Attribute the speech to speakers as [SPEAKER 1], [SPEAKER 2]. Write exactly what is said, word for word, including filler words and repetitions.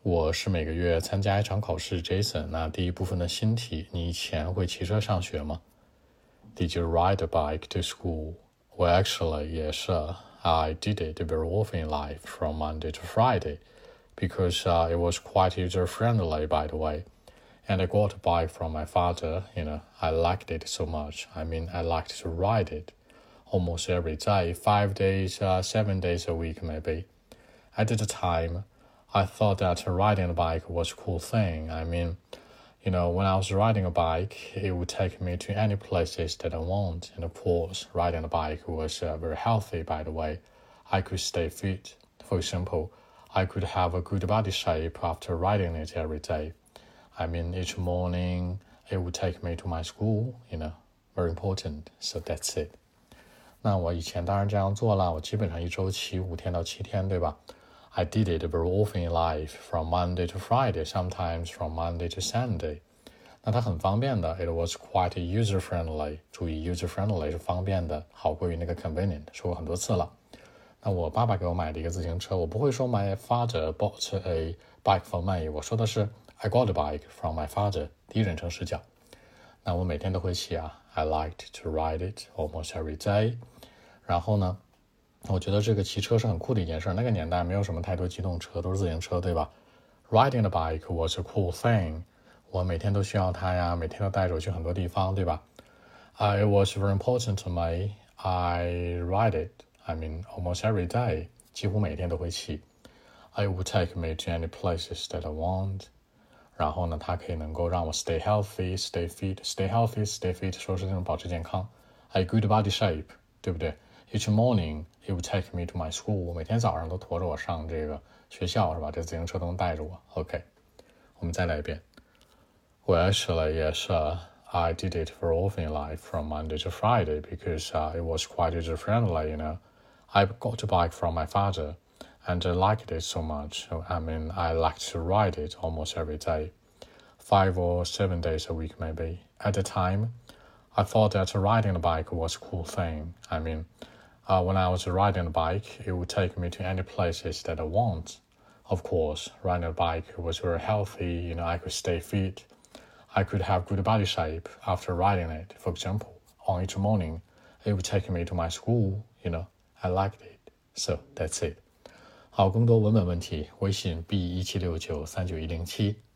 [SPEAKER 1] 我是每个月参加一场考试 Jason， 那第一部分的新题，你以前会骑车上学吗？ Did you ride a bike to school? Well, actually, yes, uh, I did it very often in life from Monday to Friday because uh, it was quite user-friendly, by the way. And I got a bike from my father, you know, I liked it so much. I mean, I liked to ride it almost every day, five days, uh, seven days a week maybe. At the time, I thought that riding a bike was a cool thing. I mean, you know, when I was riding a bike, it would take me to any places that I want. And of course, riding a bike was uh, very healthy, by the way. I could stay fit. For example, I could have a good body shape after riding it every day. I mean, each morning, it would take me to my school, you know, very important. So that's it. 那我以前当然这样做了，我基本上一周骑五天到七天，对吧？ I did it very often in life, from Monday to Friday, sometimes from Monday to Sunday. 那它很方便的 ，it was quite user-friendly. 注意 user-friendly 是方便的，好过于那个 convenient， 说过很多次了。那我爸爸给我买的一个自行车，我不会说 my father bought a bike for me， 我说的是 I got a bike from my father， 第一人称视角。那我每天都会骑啊 ，I liked to ride it almost every day。然后呢？我觉得这个骑车是很酷的一件事，那个年代没有什么太多机动车，都是自行车，对吧？ Riding a bike was a cool thing. 我每天都需要它呀，每天都带着我去很多地方，对吧？ uh, It was very important to me. I ride it. I mean, almost every day. 几乎每天都会骑。It would take me to any places that I want. 然后呢，它可以能够让我 stay healthy, stay fit, stay healthy, stay fit， 说是这种保持健康。A good body shape， 对不对？Each morning, it would take me to my school. 我每天早上都驮着我上这个学校，是吧？这自行车都能带着我。OK， 我们再来一遍。Well, actually, yes, uh, I did it very often in life from Monday to Friday because uh, it was quite user-friendly, you know. I got a bike from my father, and I liked it so much. I mean, I liked to ride it almost every day, five or seven days a week maybe. At the time, I thought that riding a bike was a cool thing. I mean, Uh, when I was riding a bike, it would take me to any places that I want. Of course, riding a bike was very healthy, you know, I could stay fit. I could have good body shape after riding it. For example, on each morning, it would take me to my school, you know, I liked it. So, that's it. 好，更多文本问题，微信 b 一七六九三九一零七。